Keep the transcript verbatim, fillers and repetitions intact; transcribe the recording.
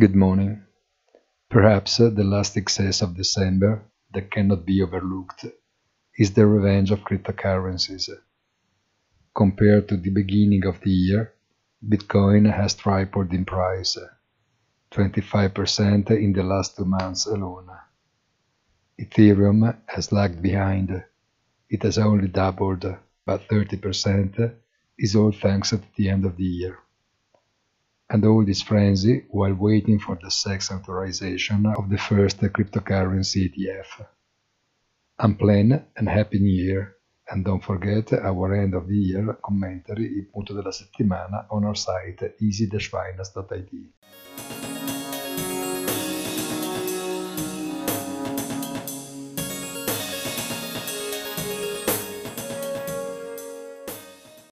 Good morning. Perhaps uh, the last excess of December that cannot be overlooked is the revenge of cryptocurrencies. Compared to the beginning of the year, Bitcoin has tripled in price, twenty-five percent in the last two months alone. Ethereum has lagged behind. It has only doubled, but thirty percent is all thanks to the end of the year. And all this frenzy while waiting for the S E C authorization of the first cryptocurrency E T F. Unplanned and Happy New Year, and don't forget our end of the year commentary, il punto della settimana, on our site easy dash finance dot I T.